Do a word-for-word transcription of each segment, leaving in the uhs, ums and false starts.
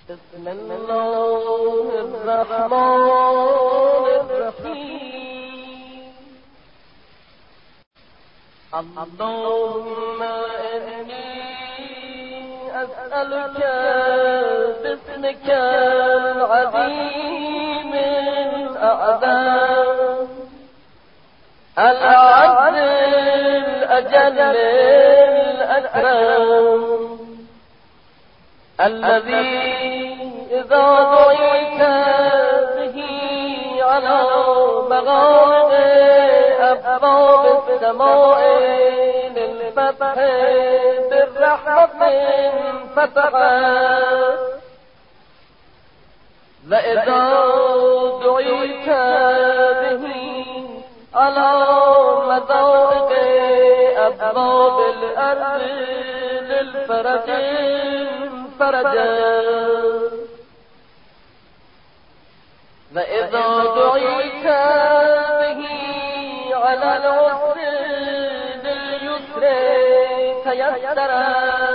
بسم الله الرحمن الرحیم. اللهم إني أسألك باسمك العظيم الأعظم العز الأجل الأكرم الذي إذا دعيت به على مغارب أبواب السماء للفتح بالرحمة فتحت، وإذا دعيت به على مضائق أبواب الأرض للفرج فرجا، وإذا دعيت به على العسر لليسر تيسرا،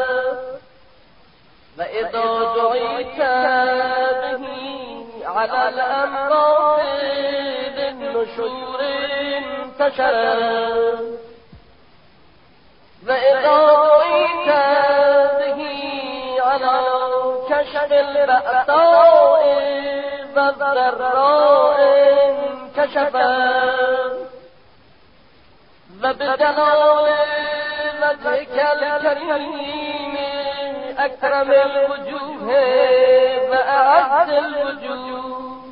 وإذا دعيت به على الأمراض للنشور انتشرا، وإذا دعيت به على كشف البأساء والضراء انكشفا، وبجلال وجهك الكريم أكرم الوجوه وأعز الوجوه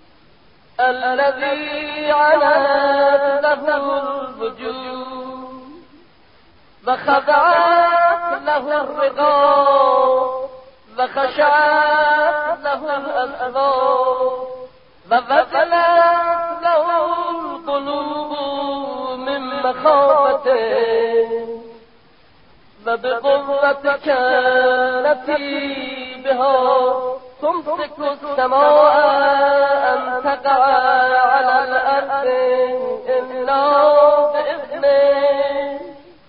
الذي علت له الوجوه وخضعت له الرضا وخشعت له الأسباب ووجلت له القلوب من مخافته، وبقوتك التي بها تمسك السماء أن تقع على الأرض إلا بإذنه،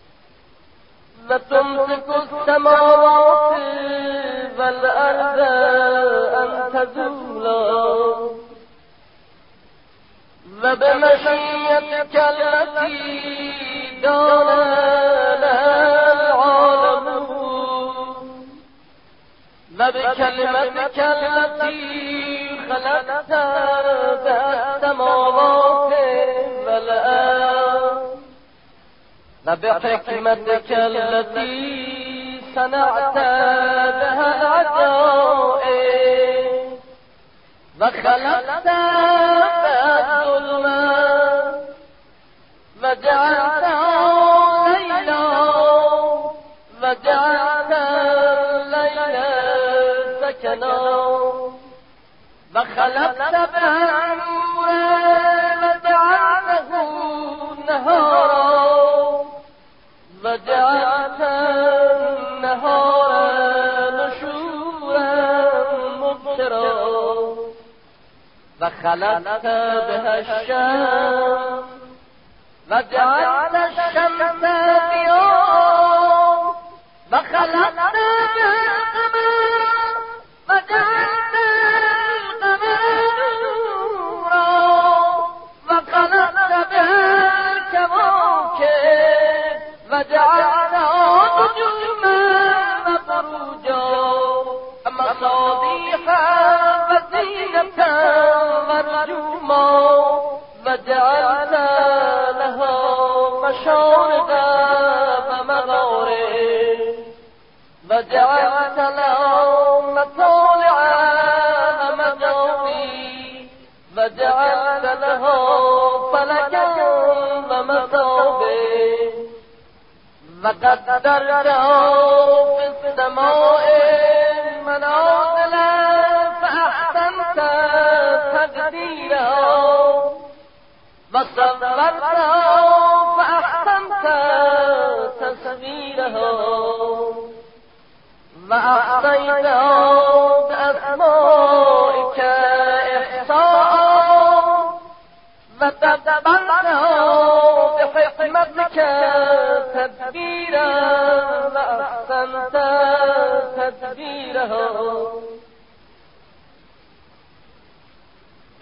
وتمسك السماوات والأرض أن تزولا، وبمشيئتك التي دان لها العالمون، وبكلمتك التي خلقت بها السماوات والأرض، وبحكمتك التي صنعت بها العجائب، وخلقت بها الظلمات وجعلت ليلا وجعلت الليل سكنا، وخلقت بها النور وجعلته نهارا وجعلت النهار نشورا مبصرا، وخلقت بها الشمس وجعلت الشمس ضياء، وخلقت بها القمر وجعلت القمر نورا، وخلقت بها الكواكب وجعلها نجوما وبروجا مصابيح وزينة ورجوما، وجعلنا لها مشارب ومغارب، وجعلت لها مطالع ومجاري، وجعلت لها فلكا ومصابيح، وقدرته في السماء منازل فأحسنت تقديره، وصورته فأحسنت تصويره، وأحصيته بأسمائك إحصاء، وتدبرته بحكمتك تدبيرا، وأحسنت تدبيره،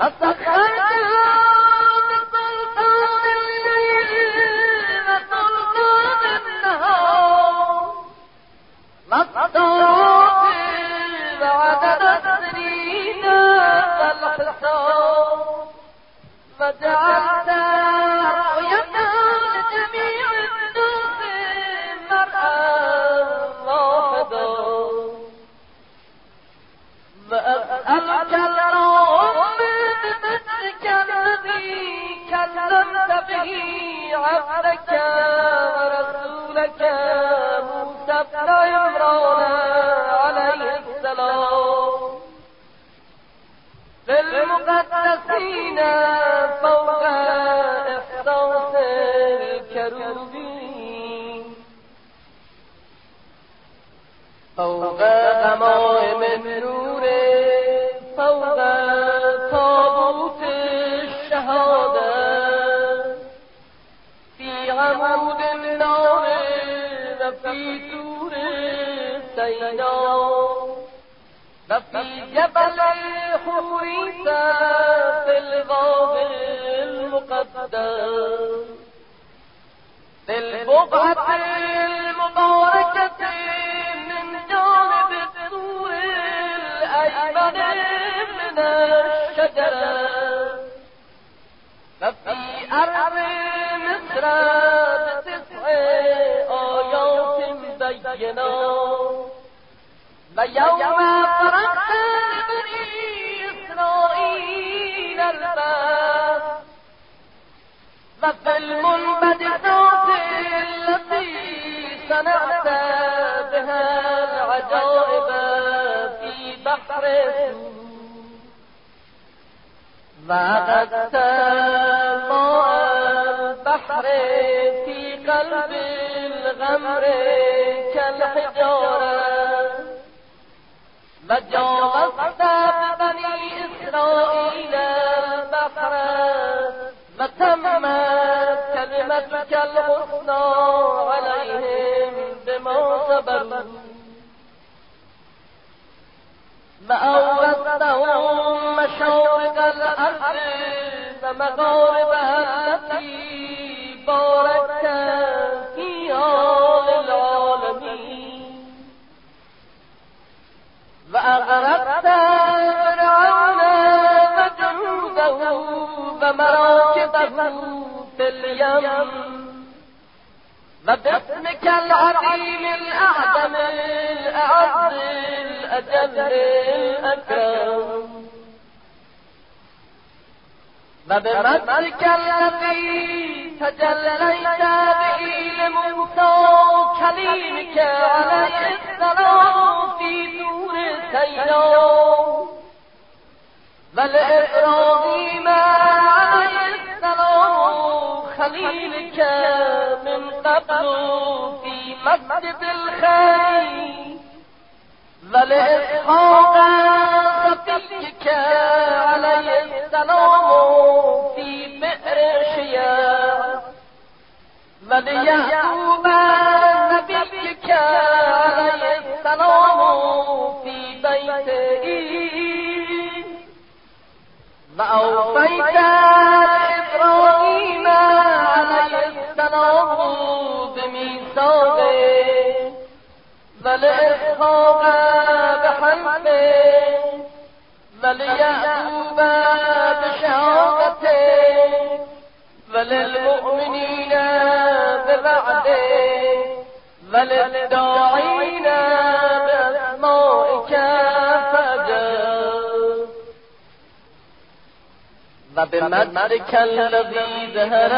بمدك الذي ظهر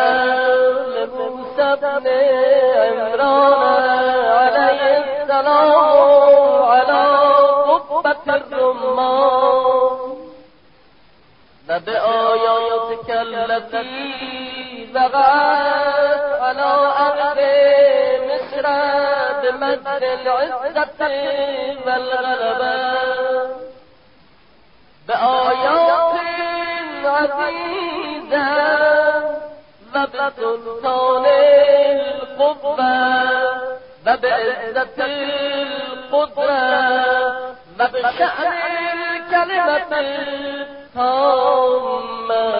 لموسى بن عمران عليه السلام على قبة الرمان وبآياتك التي بغت على أرض مصر بمد العزة والغلبة بآيات عزيزة وبسلطان القوة وبعزة القدرة وبشأن بالكلمة التامة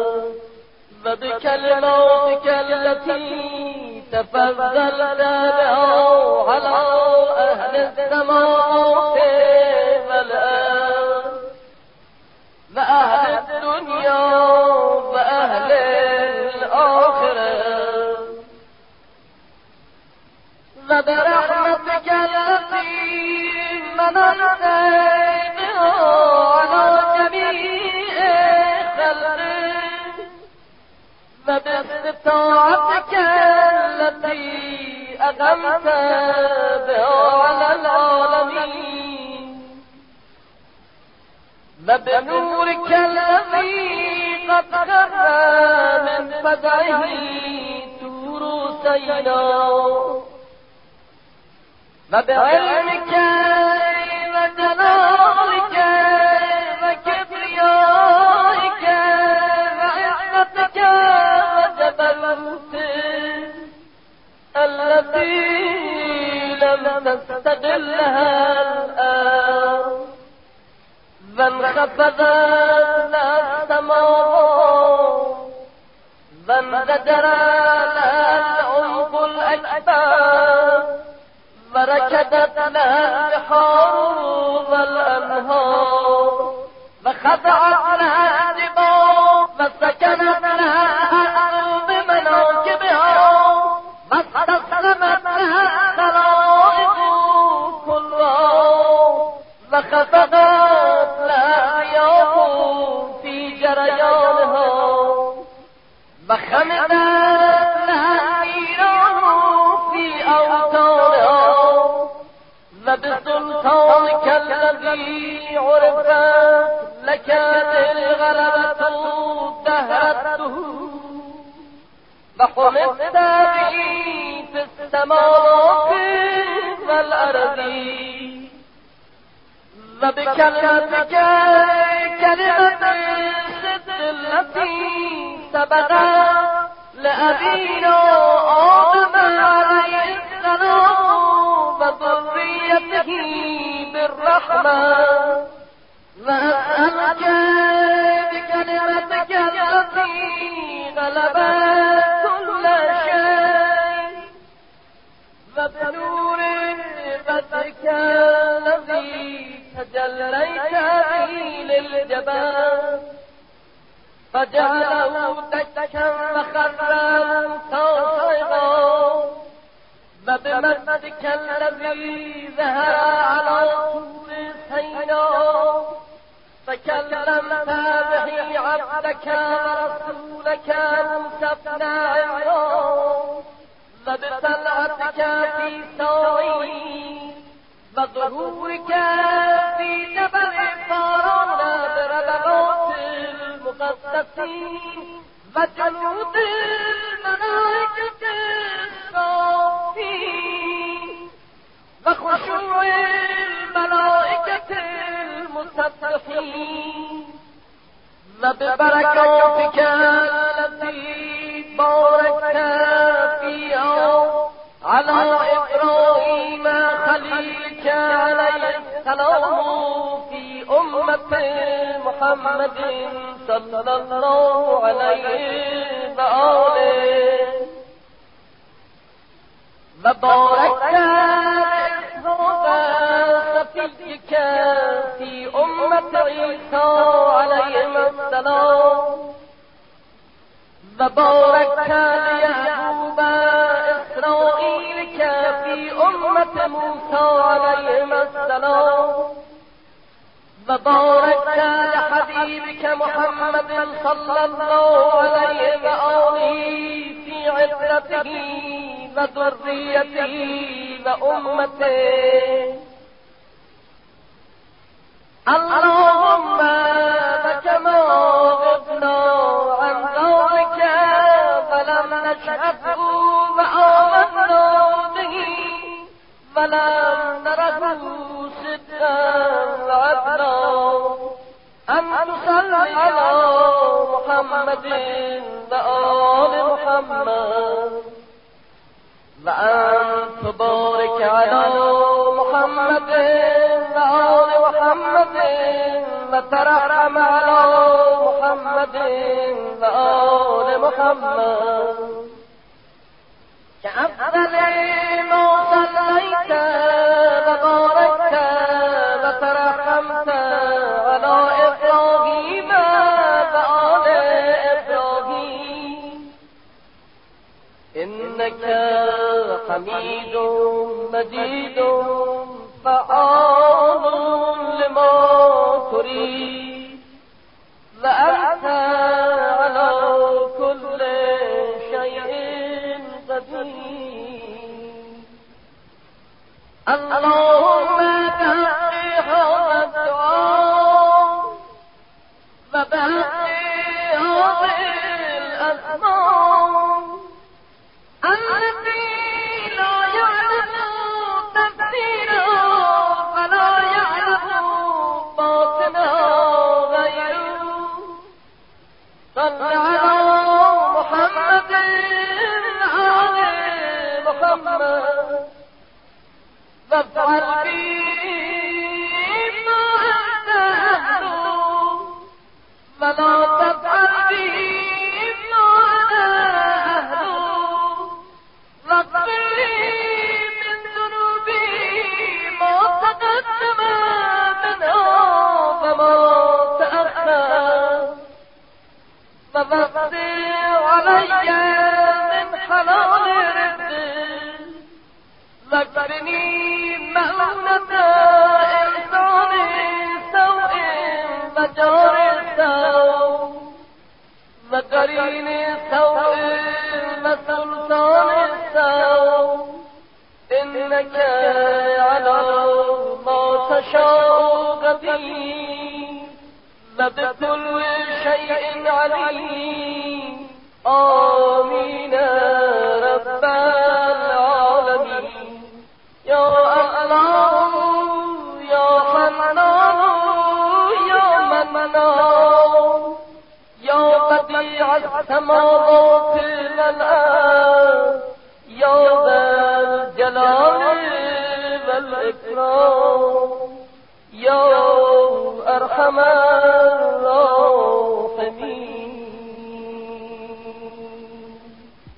وبكلماتك التي تفضلت بها على أهل السماوات والأرض وأهل الدنيا وأهل الآخرة وبرحمتك التي مننت بها على جميع خلقك وباستطاعتك التي أقمت بها على العالمين وبنورك الذي قد خر من فزعه طور سيناء وبعلمك وجلالك وكبريائك وعزتك وجبروتك التي لم تستقلها الآن وانخفضت لها السماوات وانفجر لها العمق الأكبر وركدت لها البحار والأنهار وخضعت لها الجبال وسكنت لها الأرض بمناكبها واستسلمت لها الخلائق كلها وخفضت لها الرياح في جريانها وخمدت لها النيران في أوطانها وبسلطانك الذي عرفت لك الغلبة دهرته وحمدت به في السماوات والأرض وبكلمتك كلمة الصدق التي سبقت لأبينا آدم عليه السلام وذريته بالرحمة وأسألك بكلمتك التي غلبت كل شيء وبنور بدرك الذي تجليت به للجبال فجعله دكا وخرا صاعقا وبمجدك الذي ظهر على طول سيناء فكلمت به عبدك ورسولك موسى بن عمران وبطلعتك في ساعين وظهورك في جبل فاران بربغات المقدسين وجنود الملائكة الصافين وخشوع الملائكة المسبحين وببركاتك التي باركت فيها على إبراهيم خليلك عليه السلام في أمة محمد صلى الله عليه وآله وباركت صفيك في أمة عيسى عليه السلام وباركت ليعقوب إسرائيلك في أمة موسى عليه السلام وباركت لحبيبك محمد صلى الله عليه وآله في عترته وذريته وأمته اللهم لك ما غبنا عن ذلك فلم نشهده وآمنا به ولم نره صدقا وعدلا أن تصلي على محمد وآل محمد وأن تبارك على محمد وآل محمد وترحم على محمد وآل محمد كأفضل ما صليت وباركت وترحمت على إبراهيم وآل إبراهيم إنك حميد مجيد فعال لما تريد وأنت على كل شيء قدير. اللهم بحق هذا الدعاء وبحق هذه الأسماء التي لا يعلم تفسيرها ولا يعلم باطنها غيره صل على محمد آل محمد وافعل به ما أنت أهله ولا تفعل به ما أنا أهله واغفر لي من ذنوبي ما تقدم منها وما تأخر ووفر علي من حلال رزقك واكفني مؤونة إحسان سوء وجار سوء وقرين سوء وسلطان سوء إنك على ما تشاء قدير وبكل شيء عليم. آمين رب العالمين. يا الله يا حنان يا منان يا بديع السماوات والأرض يا ذا الجلال والإكرام يا أرحم